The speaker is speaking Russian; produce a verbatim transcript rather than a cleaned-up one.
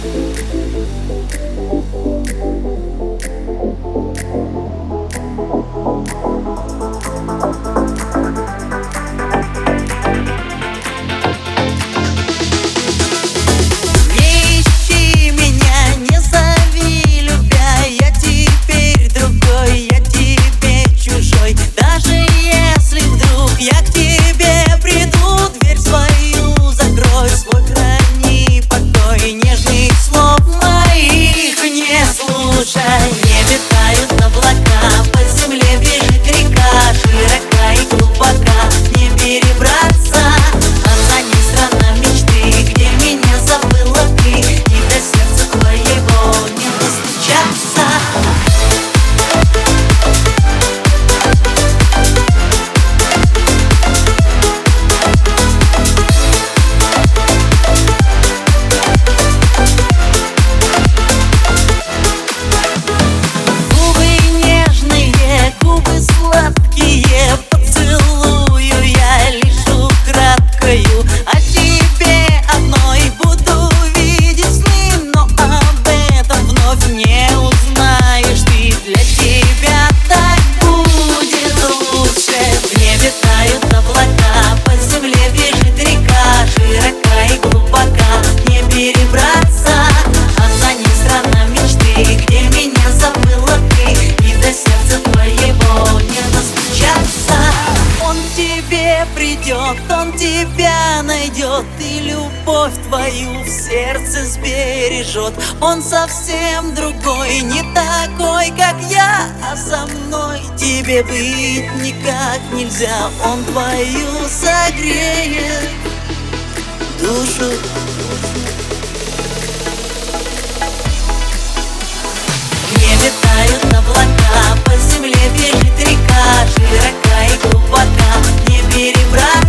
Не витают облака, по земле бежит река, широка и глубока, не перебраться. Она не страна мечты, где меня забыла ты, и до сердца твоего не достучаться. Придет, он тебя найдет и любовь твою в сердце сбережет. Он совсем другой, не такой, как я, а со мной тебе быть никак нельзя. Он твою согреет душу. Не летают облака, по земле бежит река, широка и глубока, не перебрать.